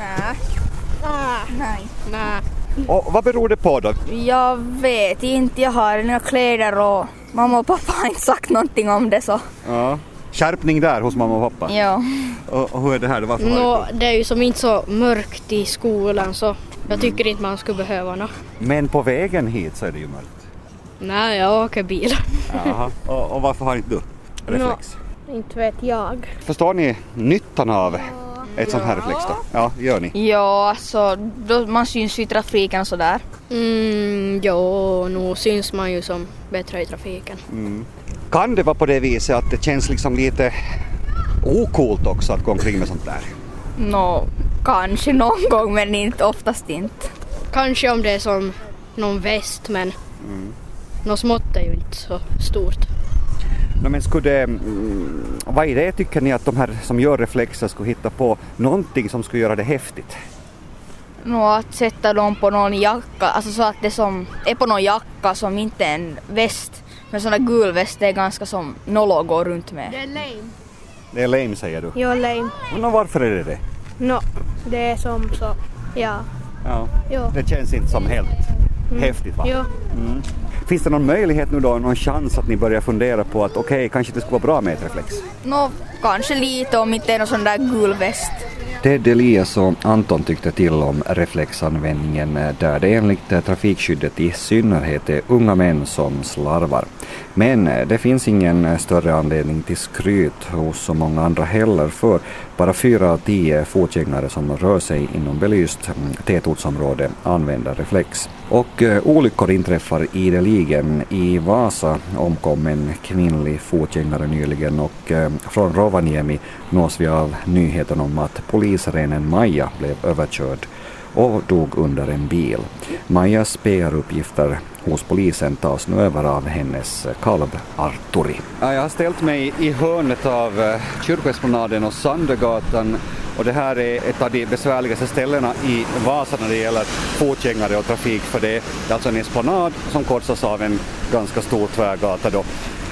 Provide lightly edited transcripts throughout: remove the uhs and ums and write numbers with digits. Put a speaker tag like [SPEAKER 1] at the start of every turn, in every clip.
[SPEAKER 1] Nej.
[SPEAKER 2] Och vad beror det på då?
[SPEAKER 3] Jag vet inte, jag har inga kläder och mamma och pappa har inte sagt någonting om det så.
[SPEAKER 2] Ja. Skärpning där hos mamma och pappa?
[SPEAKER 3] Ja.
[SPEAKER 2] Och hur är det här då? Varför har
[SPEAKER 1] Det är ju som inte så mörkt i skolan så jag tycker inte man skulle behöva något.
[SPEAKER 2] Men på vägen hit så är det ju mörkt.
[SPEAKER 1] Nej, jag åker bil.
[SPEAKER 2] Jaha. Och varför har inte du reflex?
[SPEAKER 1] Inte vet jag.
[SPEAKER 2] Förstår ni nyttan av ett sånt här reflex då? Ja, gör ni?
[SPEAKER 3] Ja, alltså då man syns i trafiken och sådär.
[SPEAKER 1] Nu syns man ju som bättre i trafiken.
[SPEAKER 2] Kan det vara på det viset att det känns liksom lite okult också att gå omkring med sånt där?
[SPEAKER 3] Kanske någon gång men inte, oftast inte.
[SPEAKER 1] Kanske om det är som någon väst men något smått är ju inte så stort.
[SPEAKER 2] Men vad är det tycker ni att de här som gör reflexer skulle hitta på någonting som skulle göra det häftigt?
[SPEAKER 3] Att sätta dem på någon jacka, alltså så att det som är på någon jacka som inte är en väst. Men sån där gul väst är ganska som nollor går runt med.
[SPEAKER 1] Det är lame.
[SPEAKER 2] Det är lame säger du?
[SPEAKER 1] Ja, lame.
[SPEAKER 2] Men varför är det?
[SPEAKER 1] Det är som så, ja.
[SPEAKER 2] Ja. Det känns inte som helt häftigt va?
[SPEAKER 1] Ja.
[SPEAKER 2] Finns det någon möjlighet nu då, någon chans att ni börjar fundera på att okej, kanske det skulle vara bra med ett reflex?
[SPEAKER 3] Kanske lite om inte är någon sån där gul väst.
[SPEAKER 2] Ted Elias och Anton tyckte till om reflexanvändningen där det enligt trafikskyddet i synnerhet är unga män som slarvar. Men det finns ingen större anledning till skryt hos så många andra heller för bara 4 av 10 fotgängare som rör sig inom belyst tätortsområde använder reflex. Och olyckor inträffar ideligen. I Vasa omkom en kvinnlig fotgängare nyligen och från Rovaniemi nås vi av nyheten om att polisrenen Maja blev överkörd och dog under en bil. Majas PR-uppgifter hos polisen tas nu över av hennes kalv Arturi. Jag har ställt mig i hörnet av Kyrkoesplanaden och Sandögatan och det här är ett av de besvärligaste ställena i Vasa när det gäller fotgängare och trafik för det är alltså en esplanad som korsas av en ganska stor tvärgata då.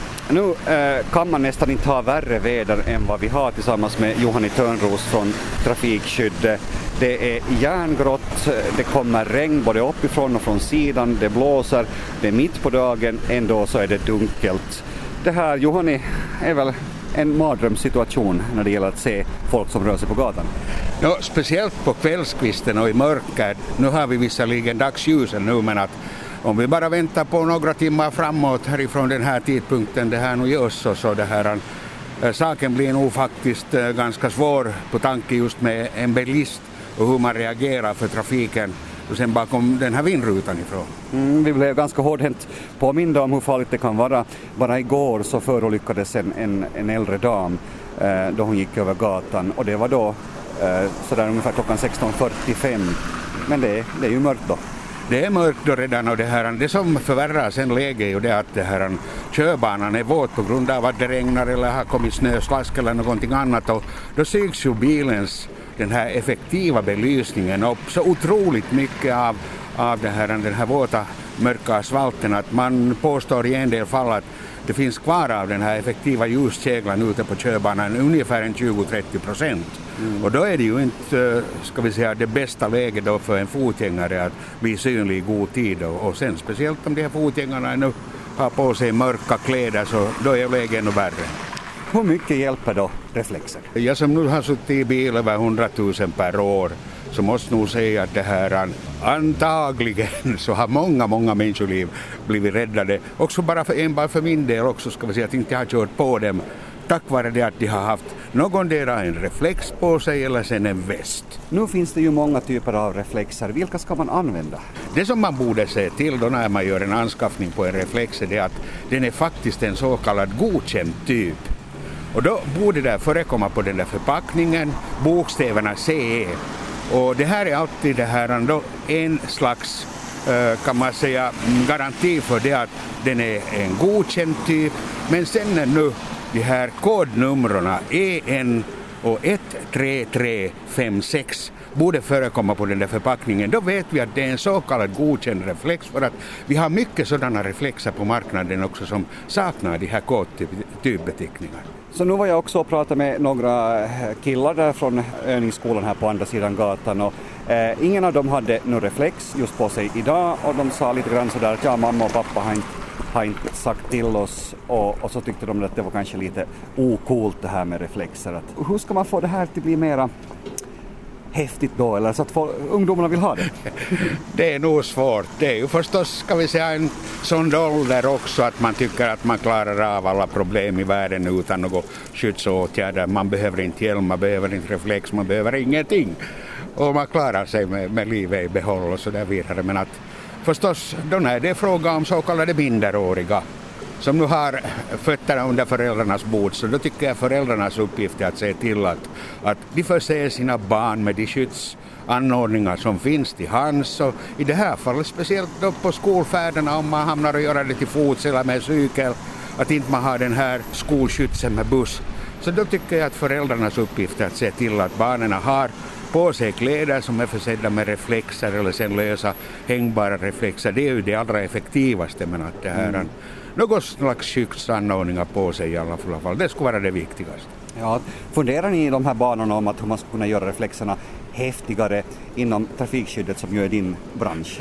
[SPEAKER 2] Nu kan man nästan inte ha värre väder än vad vi har tillsammans med Johanni Törnros från Trafikskydd. Det är järngrått, det kommer regn både uppifrån och från sidan, det blåser, det är mitt på dagen, ändå så är det dunkelt. Det här, Johanni, är väl en mardrömssituation när det gäller att se folk som rör sig på gatan?
[SPEAKER 4] Ja, speciellt på kvällskvisten och i mörker. Nu har vi visserligen dagsljusen nu, men att om vi bara väntar på några timmar framåt härifrån den här tidpunkten det här nu görs så det här saken blir nog faktiskt ganska svår på tanke just med en bilist och hur man reagerar för trafiken och sen bakom den här vindrutan ifrån.
[SPEAKER 2] Vi blev ganska hårdhänt påminda om hur farligt det kan vara. Bara igår så förolyckades en äldre dam då hon gick över gatan och det var då sådär ungefär klockan 16:45. Men det är ju mörkt då.
[SPEAKER 4] Det är mörkt då redan och det som förvärrar sen läget är ju det att körbanan är våt på grund av att det regnar eller har kommit snöslask eller någonting annat och då syns ju bilens den här effektiva belysningen upp så otroligt mycket av den här våta mörka asfalten att man påstår i en del fall att det finns kvar av den här effektiva ljuskäglan ute på körbanan ungefär en 20-30%. Och då är det ju inte, ska vi säga, det bästa läget då för en fotgängare att bli synlig i god tid. Och sen speciellt om de här fotgängarna nu har på sig mörka kläder så då är läget ännu värre.
[SPEAKER 2] Hur mycket hjälper då reflexer?
[SPEAKER 4] Jag som nu har suttit i bil över 100 000 per år så måste nog säga att det här antagligen så har många människoliv blivit räddade. Också bara för min del också ska vi säga att inte jag har kört på dem tack vare det att de har haft någon del en reflex på sig eller sen en väst.
[SPEAKER 2] Nu finns det ju många typer av reflexer. Vilka ska man använda?
[SPEAKER 4] Det som man borde se till då när man gör en anskaffning på en reflex är det att den är faktiskt en så kallad godkänd typ. Och då borde det förekomma på den där förpackningen bokstäverna CE. Och det här är alltid det här ändå en slags kan man säga garanti för det att den är en godkänd typ. Men sen är nu de här kodnumren EN och 13356 borde förekomma på den där förpackningen, då vet vi att det är en så kallad godkänd reflex, för att vi har mycket sådana reflexer på marknaden också som saknar de här kodtypbeteckningar.
[SPEAKER 2] Så nu var jag också och pratade med några killar där från övningsskolan här på andra sidan gatan och ingen av dem hade någon reflex just på sig idag, och de sa lite grann sådär att mamma och pappa har inte sagt till oss, och så tyckte de att det var kanske lite ocoolt det här med reflexer. Att, hur ska man få det här till bli mera häftigt då, eller så att ungdomarna vill ha det?
[SPEAKER 4] Det är nog svårt. Det är ju förstås, ska vi säga, en sån ålder också att man tycker att man klarar av alla problem i världen utan några skyddsåtgärder. Man behöver inte hjälm, man behöver inte reflex, man behöver ingenting. Och man klarar sig med livet i behåll och så där vidare. Men att förstås, då när det är fråga om så kallade minderåriga som nu har fötterna under föräldrarnas bord, så då tycker jag föräldrarnas uppgift är att se till att de förser sina barn med de skyddsanordningar som finns till hands, och i det här fallet speciellt då på skolfärderna, om man hamnar och göra det till fots eller med cykel, att inte man har den här skolskydsen med buss. Så då tycker jag att föräldrarnas uppgift är att se till att barnen har på sig kläder som är försedda med reflexer eller sen lösa hängbara reflexer. Det är ju det allra effektivaste, men att det här något slags skyddsanordningar på sig i alla fall. Det skulle vara det viktigaste.
[SPEAKER 2] Ja, funderar ni i de här banorna om att hur man ska kunna göra reflexerna häftigare inom trafikskyddet som ju är din bransch?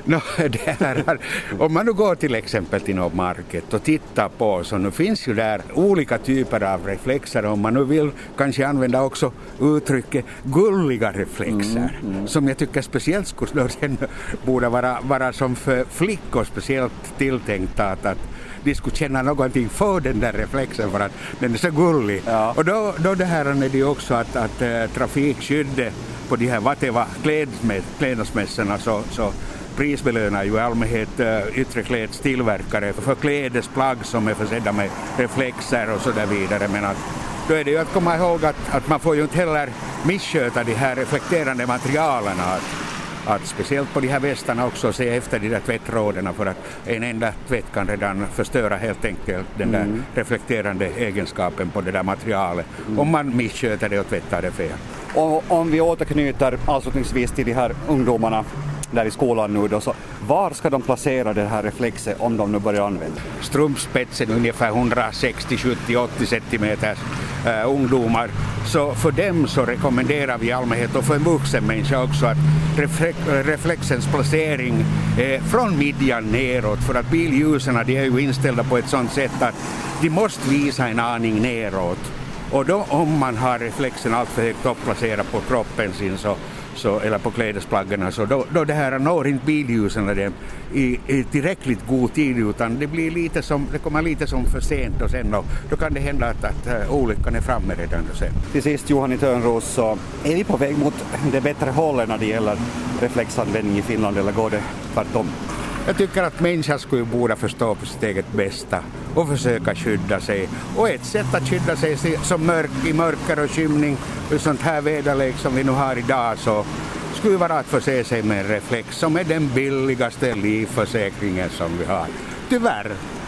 [SPEAKER 4] Om man nu går till exempel till något market och tittar på, så nu finns ju där olika typer av reflexer. Om man nu vill kanske använda också uttrycket gulliga reflexer, som jag tycker speciellt skulle borde vara som för flickor speciellt tilltänkt att de skulle känna någonting för den där reflexen för att den är så gullig. Ja. Och då det här är det ju också att trafikskyddet på de här klädesmässorna så prisbelönar ju i allmänhet yttre klädstillverkare för klädesplagg som är försedda med reflexer och så där vidare. Men att då är det ju att komma ihåg att man får ju inte heller missköta de här reflekterande materialen. Att speciellt på de här västarna också se efter de där tvättråderna, för att en enda tvätt kan redan förstöra helt enkelt den där reflekterande egenskapen på det där materialet. Om man missköter det och tvättar det fel.
[SPEAKER 2] Och om vi återknyter avslutningsvis till de här ungdomarna där i skolan nu då, så var ska de placera det här reflexet om de nu börjar använda?
[SPEAKER 4] Strumpspetsen ungefär 160, 70, 80 centimeters ungdomar. Så för dem så rekommenderar vi i allmänhet, och för en vuxen människa också, att reflexens placering från midjan neråt, för att billjusen de är ju inställda på ett sådant sätt att de måste visa en aning neråt. Och då om man har reflexen allt för högt uppplacerad på kroppen sin så eller på klädesplaggen, så då det här når inte billjusen i tillräckligt god tid, utan det kommer lite som för sent, och sen då kan det hända att olyckan är framme redan då sen.
[SPEAKER 2] Till sist, Johan i Törnros, så är vi på väg mot det bättre hållet när det gäller reflexanvändning i Finland, eller går det tvärtom?
[SPEAKER 4] Jag tycker att människan skulle borde förstå på sitt eget bästa och försöka skydda sig. Och ett sätt att skydda sig som i mörker och skymning och sånt här väderlek som vi nu har idag, så skulle vara att förse sig med en reflex som är den billigaste livförsäkringen som vi har. Tyvärr.